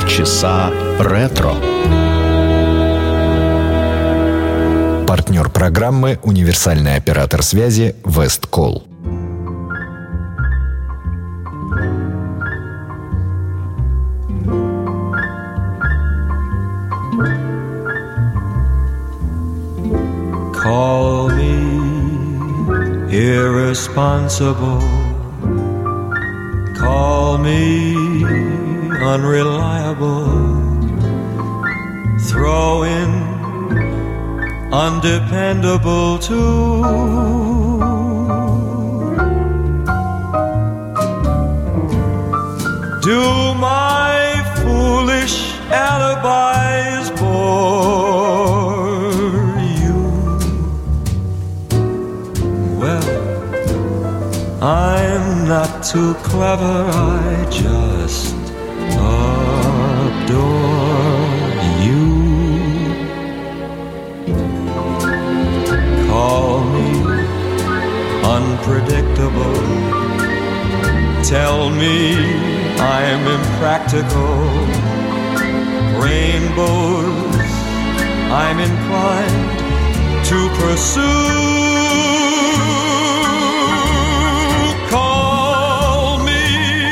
Полчаса ретро. Партнер программы — универсальный оператор связи Весткол. Call me irresponsible. Call me unreliable. Throw in undependable too. Do my foolish alibis bore you? Well, I'm not too clever, I just adore you. Call me unpredictable. Tell me I'm impractical. Rainbows I'm inclined to pursue. Call me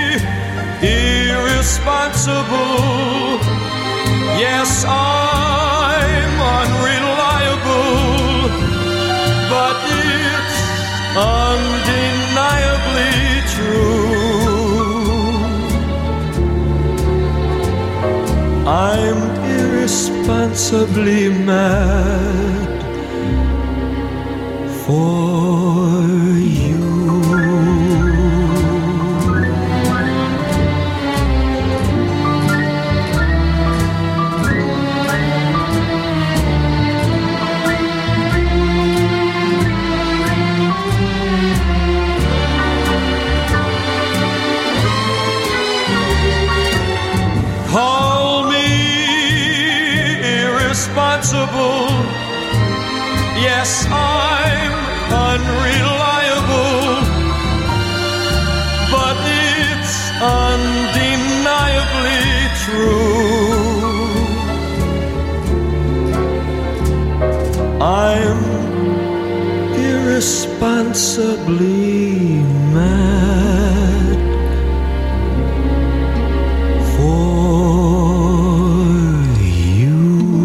irresponsible. Yes, I'm unreliable, but it's undeniably true. I'm irresponsibly mad for you. Call me irresponsible. Yes, I'm unreliable, but it's undeniably true. I'm irresponsibly mad for you.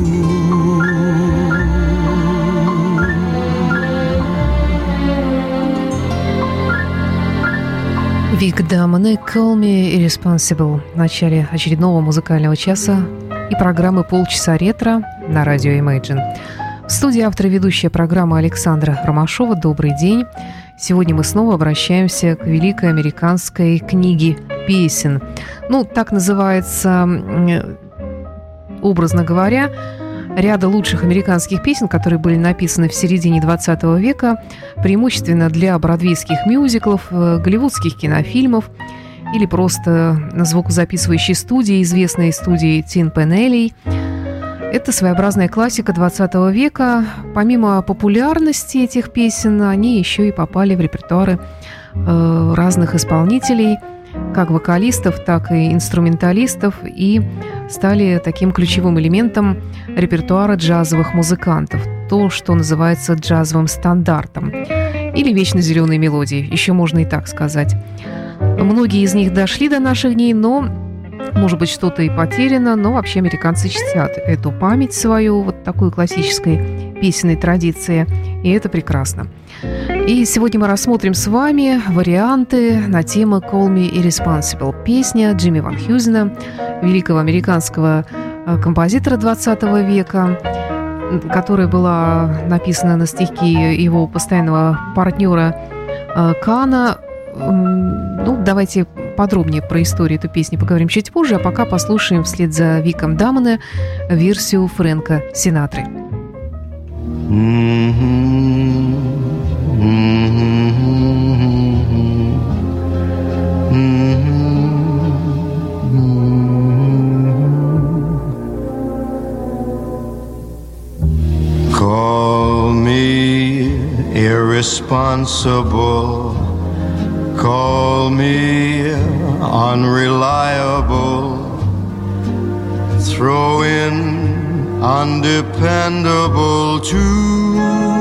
Вик Дамоне «Call Me Irresponsible» в начале очередного музыкального часа и программы «Полчаса ретро» на радио Imagine. В студии автор и ведущая программы Александра Ромашова. Добрый день. Сегодня мы снова обращаемся к великой американской книге песен. Так называется, образно говоря, ряда лучших американских песен, которые были написаны в середине 20 века, преимущественно для бродвейских мюзиклов, голливудских кинофильмов или просто на звукозаписывающей студии, известной студии Тин Пенелли. Это своеобразная классика 20 века. Помимо популярности этих песен, они еще и попали в репертуары разных исполнителей, как вокалистов, так и инструменталистов, и стали таким ключевым элементом репертуара джазовых музыкантов. То, что называется джазовым стандартом. Или вечно зеленые мелодии, еще можно и так сказать. Многие из них дошли до наших дней, но, может быть, что-то и потеряно, но вообще американцы чтят эту память свою, вот такой классической песенной традиции, и это прекрасно. И сегодня мы рассмотрим с вами варианты на тему «Call Me Irresponsible». Песня Джимми Ван Хьюзена, великого американского композитора 20 века, которая была написана на стихи его постоянного партнера Кана. Давайте подробнее про историю этой песни поговорим чуть позже, а пока послушаем вслед за Виком Дамоне версию Фрэнка Синатры. Call me irresponsible, call me unreliable, throw in undependable too.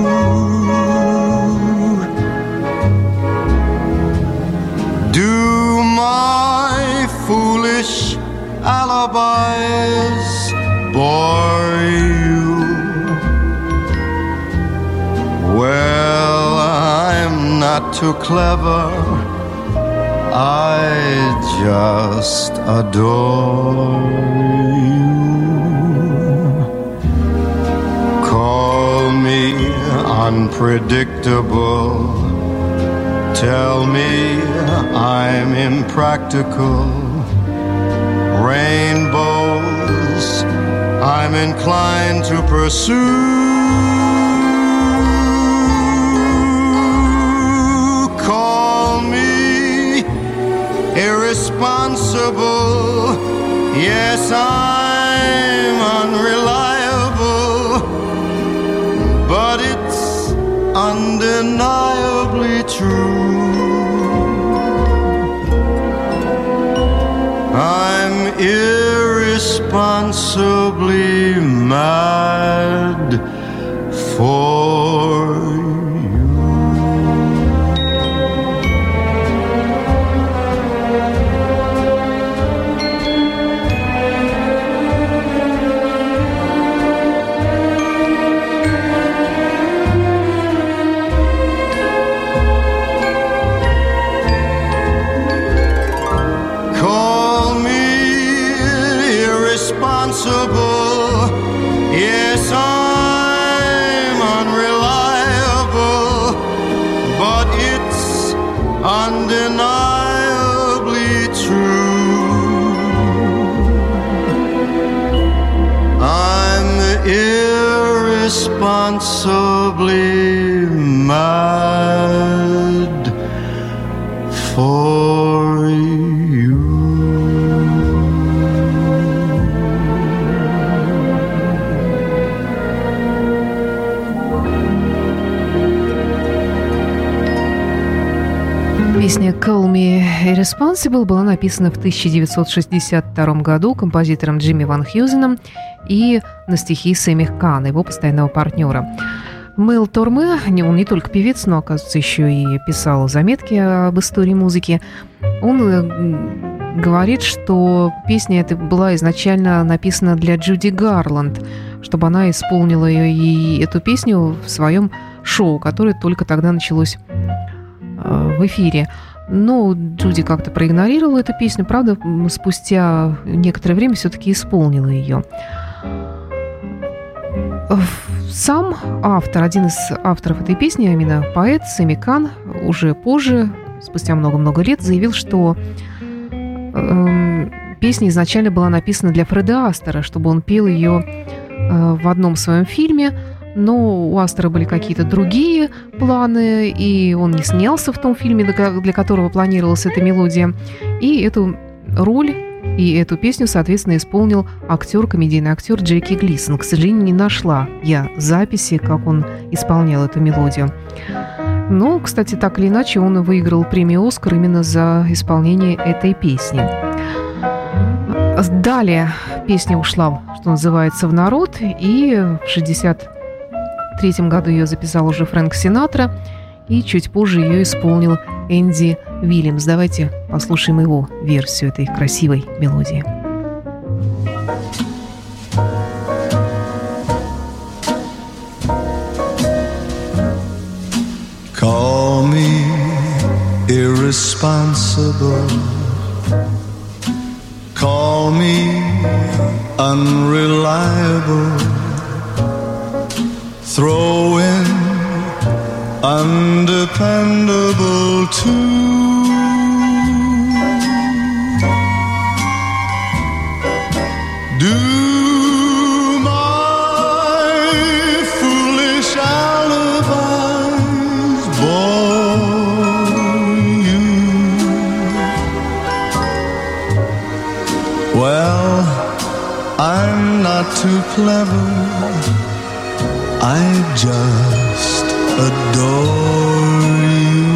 Do my foolish alibis bore you? Well, I'm not too clever, I just adore you. Call me unpredictable, tell me I'm impractical. Rainbows I'm inclined to pursue. Call me irresponsible, yes, I'm unreliable, but it's undeniably true. I'm irresponsibly mad for you. Yes, I'm unreliable, but it's undeniably true. I'm irresponsibly mad for you. Песня «Call Me Irresponsible» была написана в 1962 году композитором Джимми Ван Хьюзеном и на стихи Сэмми Кана, его постоянного партнера. Мэл Торме, он не только певец, но, оказывается, еще и писал заметки об истории музыки. Он говорит, что песня эта была изначально написана для Джуди Гарланд, чтобы она исполнила и эту песню в своем шоу, которое только тогда началось в эфире. Но Джуди как-то проигнорировала эту песню. Правда, спустя некоторое время все-таки исполнила ее. Сам автор, один из авторов этой песни, а именно поэт Сэмми Кан, уже позже, спустя много-много лет, заявил, что песня изначально была написана для Фреда Астера, чтобы он пел ее в одном своем фильме. Но у Астера были какие-то другие планы, и он не снялся в том фильме, для которого планировалась эта мелодия. И эту роль и эту песню, соответственно, исполнил комедийный актер Джеки Глисон. К сожалению, не нашла я записи, как он исполнял эту мелодию. Но, кстати, так или иначе, он выиграл премию «Оскар» именно за исполнение этой песни. Далее песня ушла, что называется, в народ, и в 1963 году ее записал уже Фрэнк Синатра, и чуть позже ее исполнил Энди Уильямс. Давайте послушаем его версию этой красивой мелодии. Call me irresponsible, call me unreliable, throw in undependable too. Do my foolish alibis bore you? Well, I'm not too clever, I just adore you.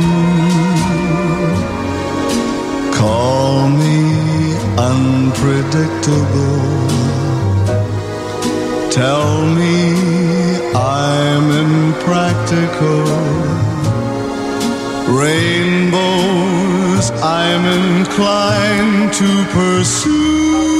Call me unpredictable, tell me I'm impractical. Rainbows I'm inclined to pursue.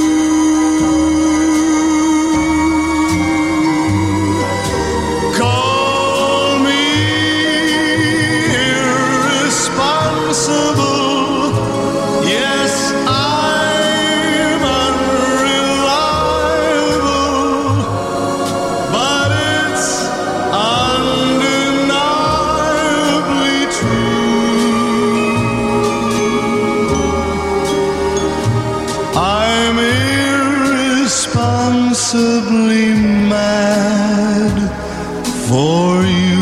Irresponsibly mad for you.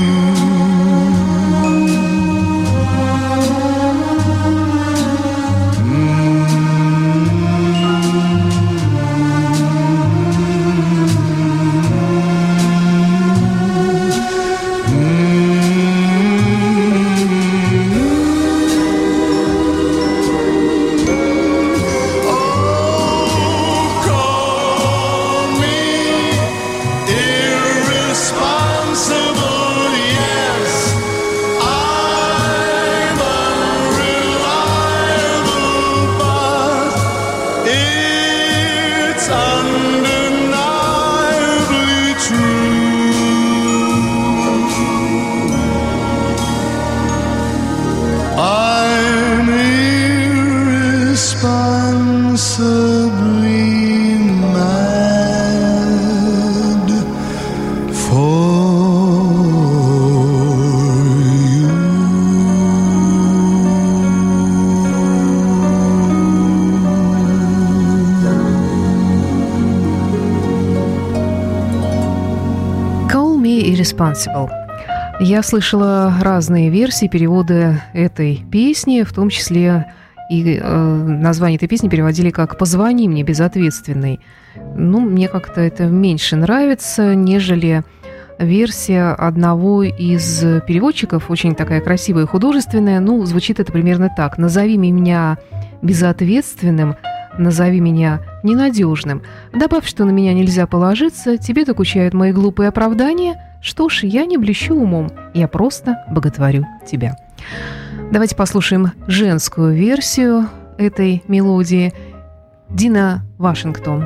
Irresponsible. Я слышала разные версии, переводы этой песни, в том числе и название этой песни переводили как «Позвони мне, безответственный». Ну, мне как-то это меньше нравится, нежели версия одного из переводчиков, очень такая красивая и художественная. Ну, звучит это примерно так: «Назови меня безответственным, назови меня ненадежным. Добавь, что на меня нельзя положиться, тебе докучают мои глупые оправдания. Что ж, я не блещу умом, я просто боготворю тебя». Давайте послушаем женскую версию этой мелодии. Дина Вашингтон.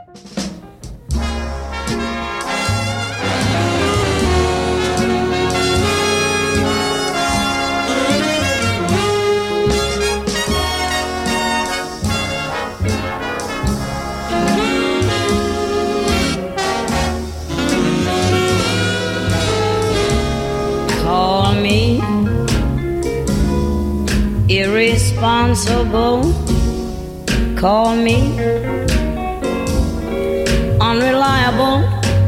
Irresponsible, call me unreliable,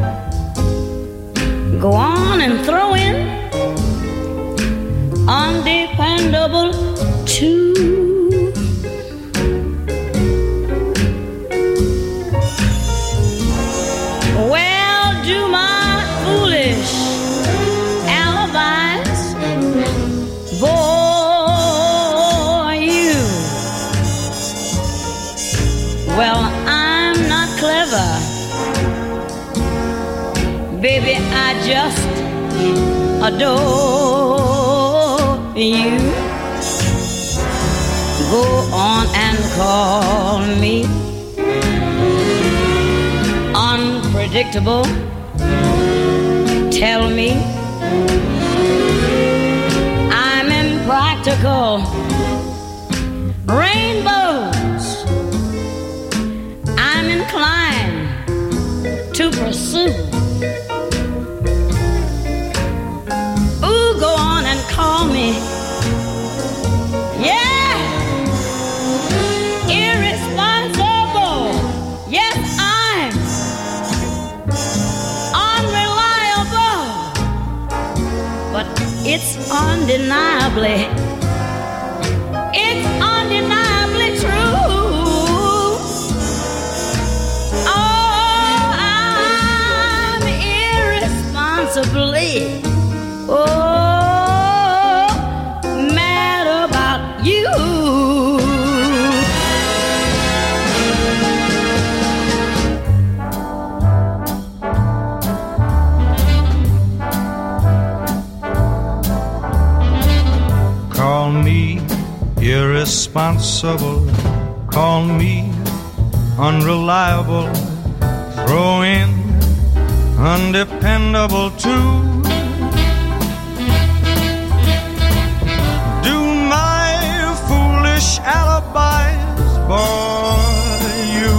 go on and throw in undependable too. Well, do my foolish alibis bore you? Well, I'm not clever, baby, I just adore you. Go on and call me unpredictable, tell me I'm impractical. Rainbows I'm inclined to pursue. Ooh, go on and call me, yeah, irresponsible. Yes, I'm unreliable, but it's undeniably true. Oh, I'm irresponsibly, mad about you. me irresponsible, call me unreliable, throw in undependable too. Do my foolish alibis bore you?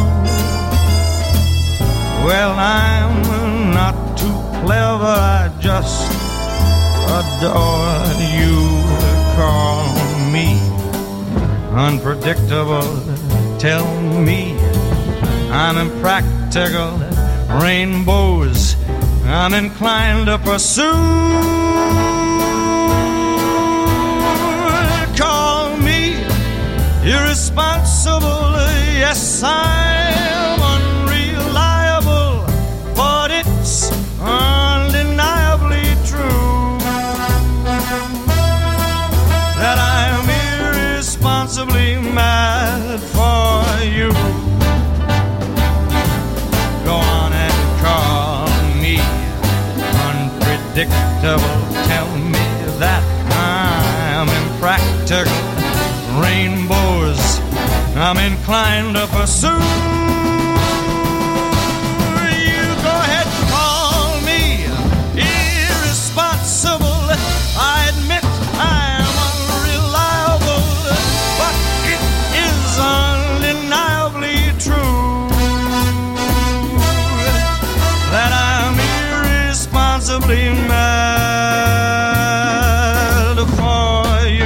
Well, I'm not too clever, I just adore you. Call me unpredictable, tell me I'm impractical, rainbows I'm inclined to pursue. Call me irresponsible, yes, I'm unreliable, but it's undeniably true that I'm irresponsibly mad for you. Go on and call me unpredictable, tell me that I'm impractical, rainbows I'm inclined to pursue. You go ahead and call me irresponsible, I admit I'm unreliable, but it is undeniably true that I'm irresponsibly mad for you.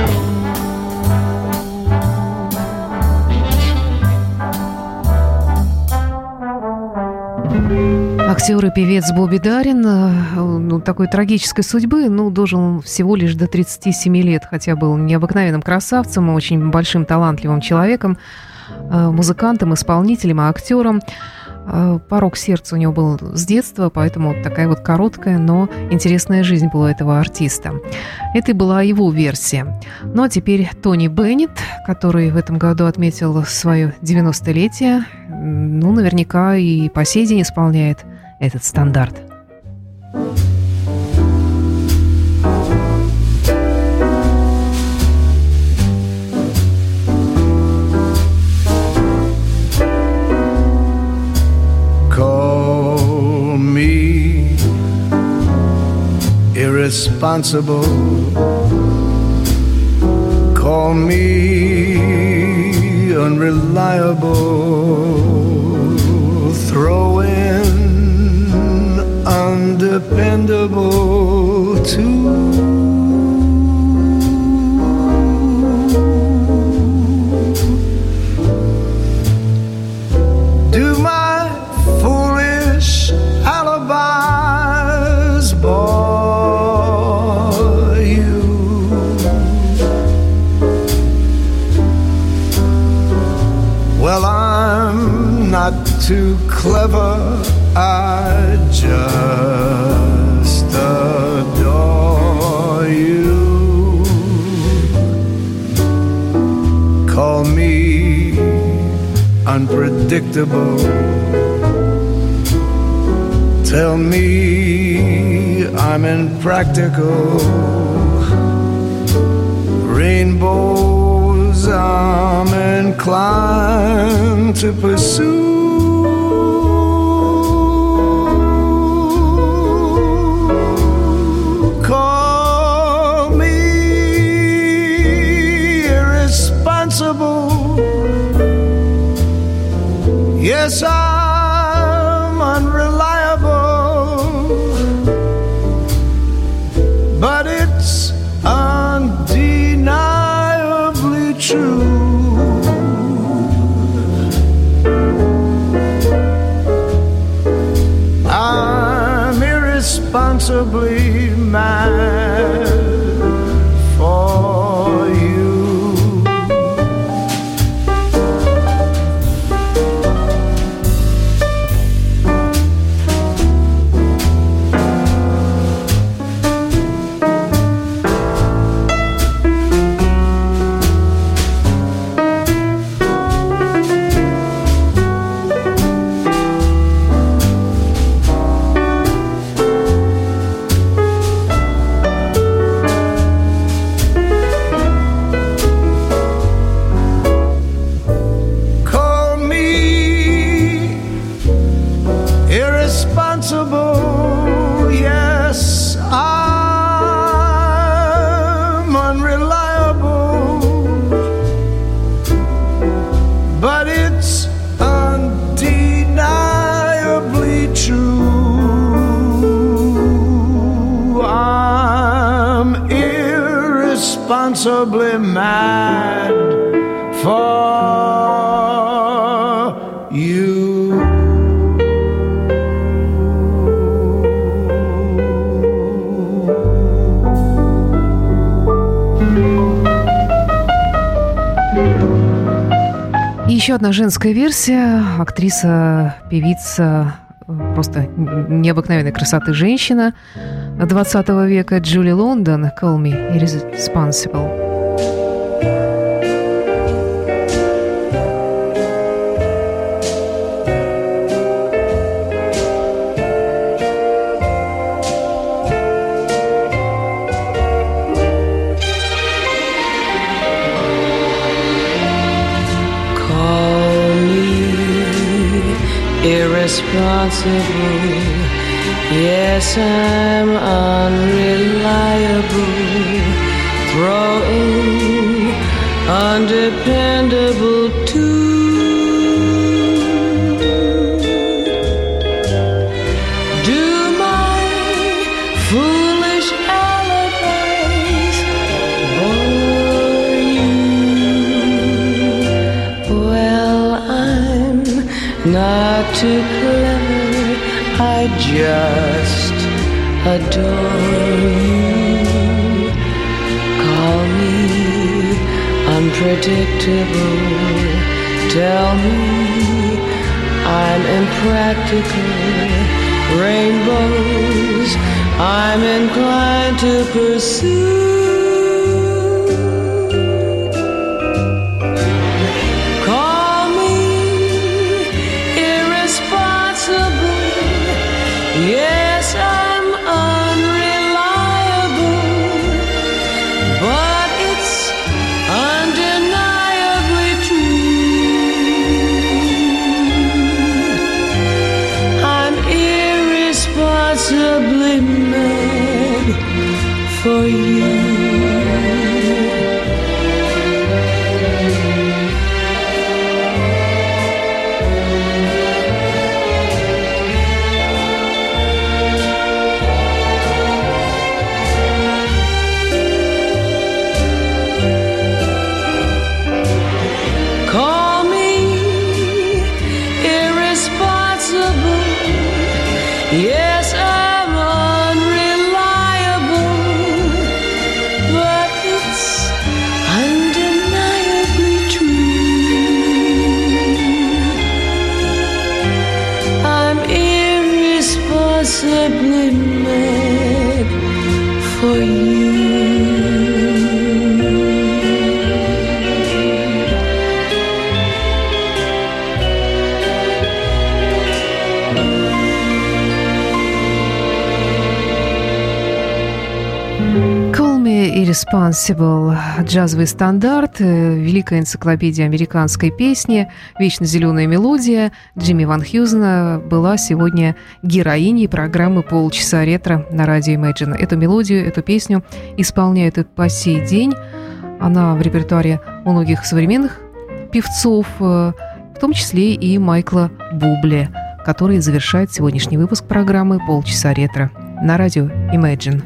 Актер и певец Бобби Даррин, такой трагической судьбы, дожил он всего лишь до 37 лет, хотя был необыкновенным красавцем, очень большим талантливым человеком, музыкантом, исполнителем, актером. Порок сердца у него был с детства, поэтому такая вот короткая, но интересная жизнь была у этого артиста. Это и была его версия. Ну а теперь Тони Беннет, который в этом году отметил свое 90-летие, наверняка и по сей день исполняет этот стандарт. Call me irresponsible, call me unreliable, throw in undependable too. Do my foolish alibis bore you? Well, I'm not too clever, I just adore you. Call me unpredictable, tell me I'm impractical, rainbows I'm inclined to pursue. Call me irresponsible, yes, I'm unreliable, but it's undeniably true I'm irresponsibly mad for you. И еще одна женская версия. Актриса, певица, просто необыкновенной красоты женщина 20 века Джули Лондон, «Call Me Irresponsible». Irresponsible, yes, I'm unreliable, throwing undependable too. Do my foolish alibis bore you? Well, I'm not too clever, I just adore you. Call me unpredictable, tell me I'm impractical. Rainbows I'm inclined to pursue. Yes, I'm unreliable, but it's undeniably true. I'm irresponsibly mad for you. Yes, I'm unreliable, but it's undeniably true. I'm irresponsibly mad for you. Irresponsible, джазовый стандарт, великая энциклопедия американской песни, вечно зеленая мелодия Джимми Ван Хьюзена была сегодня героиней программы «Полчаса ретро» на радио Imagine. Эту мелодию, эту песню исполняют и по сей день. Она в репертуаре многих современных певцов, в том числе и Майкла Бубле, который завершает сегодняшний выпуск программы «Полчаса ретро» на радио Imagine.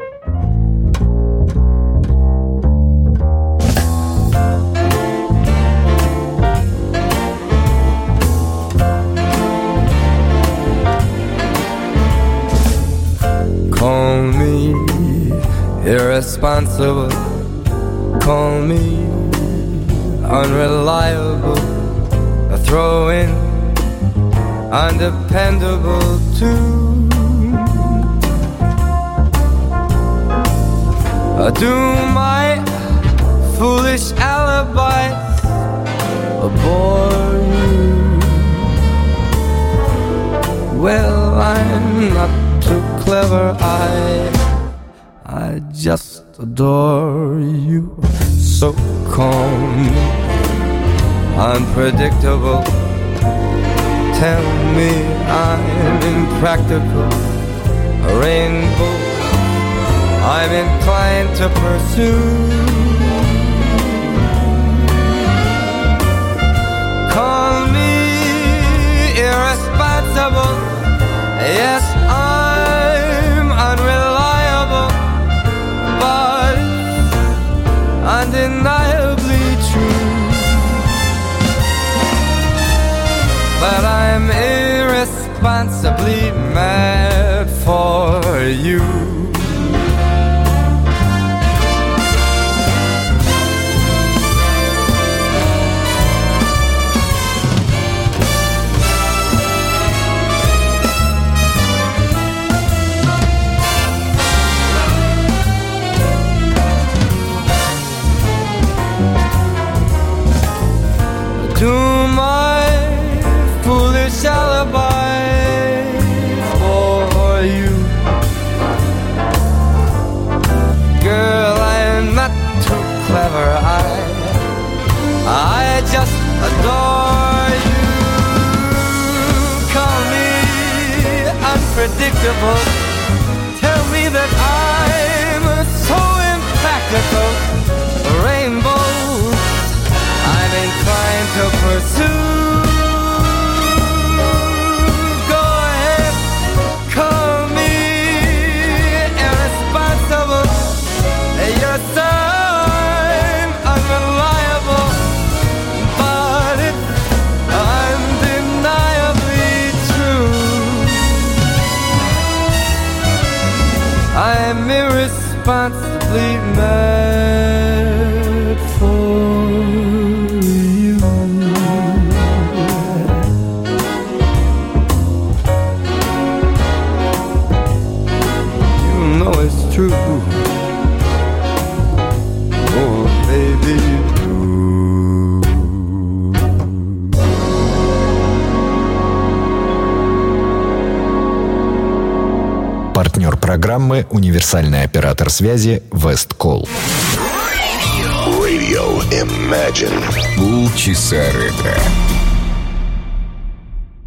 Call me irresponsible, call me unreliable, throw in undependable too. Do my foolish alibis bore you? Well, I'm not too clever, I just adore you. So calm, unpredictable, tell me I'm impractical. A rainbow I'm inclined to pursue. Call me irresponsible, yes, I'm unreliable, but undeniably true. But I'm irresponsibly mad for you. predictable. Tell me that I'm so impractical. Rainbows I'm inclined to pursue. Go ahead, call me irresponsible. You're so unreliable, but it's undeniably true. I'm irresponsibly mad for you. You know it's true. Oh, baby, you do. Партнер программы «Универсальный оператор связи» Westcall. Radio Imagine. Полчаса ретро.